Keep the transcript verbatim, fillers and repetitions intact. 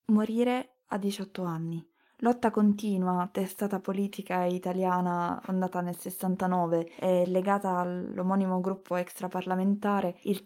Morire a diciotto anni. Lotta continua, testata politica italiana fondata nel sessantanove e legata all'omonimo gruppo extraparlamentare, il